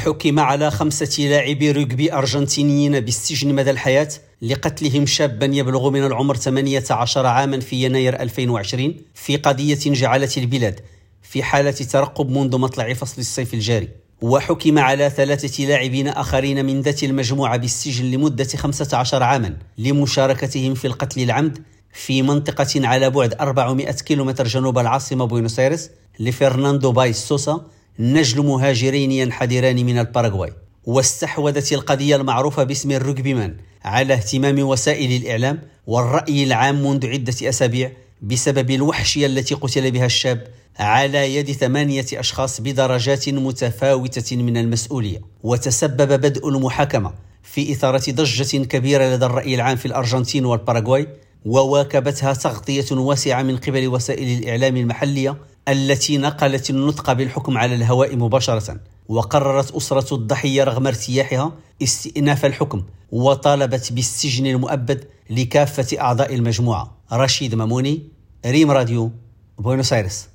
حكم على 5 لاعبي رجبي أرجنتينيين بالسجن مدى الحياة لقتلهم شابا يبلغ من العمر 18 عاما في يناير 2020 في قضية جعلت البلاد في حالة ترقب منذ مطلع فصل الصيف الجاري. وحكم على 3 لاعبين آخرين من ذات المجموعة بالسجن لمدة 15 عاما لمشاركتهم في القتل العمد في منطقة على بعد 400 كيلومتر جنوب العاصمة بوينوس آيرس لفرناندو بايس سوسا، نجل مهاجرين ينحدران من الباراغواي. واستحوذت القضية المعروفة باسم الرجبي مان على اهتمام وسائل الإعلام والرأي العام منذ عدة أسابيع بسبب الوحشية التي قتل بها الشاب على يد 8 أشخاص بدرجات متفاوتة من المسؤولية. وتسبب بدء المحاكمة في إثارة ضجة كبيرة لدى الرأي العام في الأرجنتين والباراغواي، وواكبتها تغطية واسعة من قبل وسائل الإعلام المحلية التي نقلت النطق بالحكم على الهواء مباشرة. وقررت أسرة الضحية رغم ارتياحها استئناف الحكم وطالبت بالسجن المؤبد لكافة أعضاء المجموعة. رشيد ماموني، ريم راديو، بوينوس آيرس.